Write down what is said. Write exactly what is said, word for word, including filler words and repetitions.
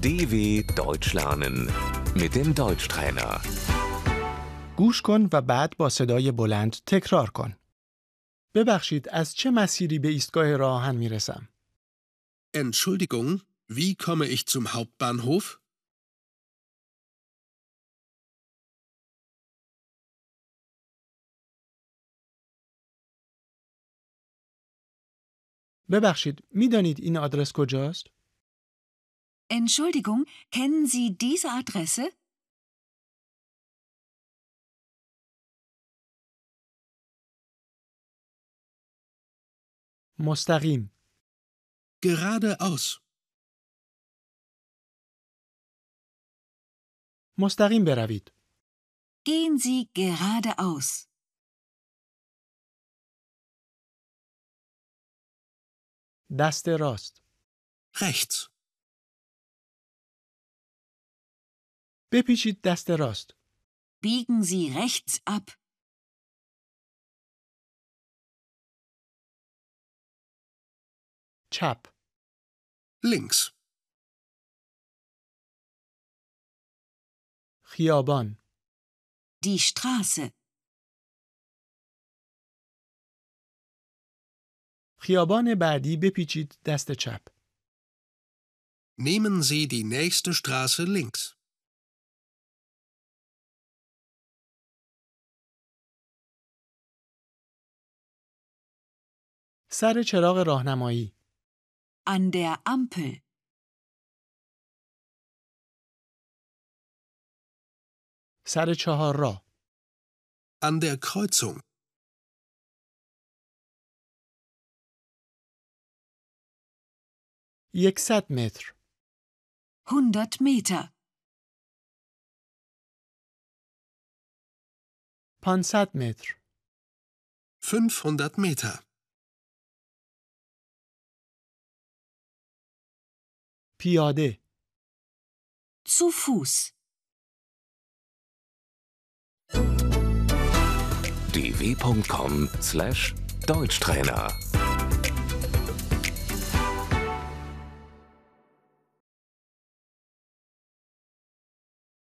D W Deutsch lernen mit dem Deutschtrainer. گوش کن و بعد با صدای بلند تکرار کن. ببخشید، از چه مسیری به ایستگاه راه آهن میرسم؟ Entschuldigung, wie komme ich zum Hauptbahnhof? ببخشید، میدانید این آدرس کجاست؟ Entschuldigung, kennen Sie diese Adresse? مستقیم. Geradeaus. مستقیم بروید. Gehen Sie geradeaus. دست راست. Rechts. بپیچید دست راست. Biegen Sie rechts ab. چپ. Links. خیابان. Die Straße. خیابان بعدی بپیچید دست چپ. Nehmen Sie die nächste Straße links. سر چراغ راهنمایی. An der Ampel. سر چهارراه. An der Kreuzung. یکصد متر. hundert Meter. پانصد متر. fünfhundert Meter. پیاده. Zu Fuß. d w punkt com slash Deutschtrainer